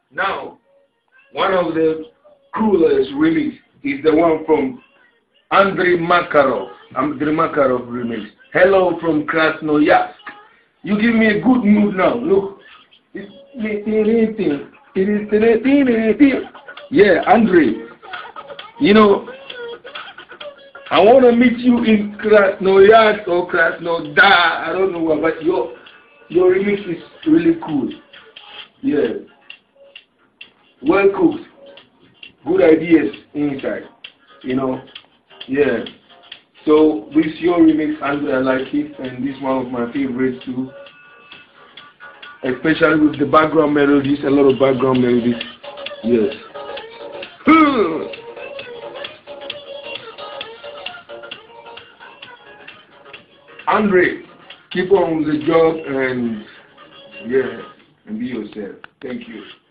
Now, one of the coolest remix is the one from Andrei Makarov. Andrei Makarov remix. Hello from Krasnoyarsk. You give me a good mood now. Look. Yeah, Andrei. You know, I want to meet you in Krasnoyarsk or Krasnodar. I don't know what, but your remix is really cool. Yeah. Well cooked. Good ideas inside. You know. Yeah. So this your remix, Andrei, I like it, and this one of my favorites too. Especially with the background melodies, a lot of background melodies. Yes. Andrei, keep on with the job and yeah, and be yourself. Thank you.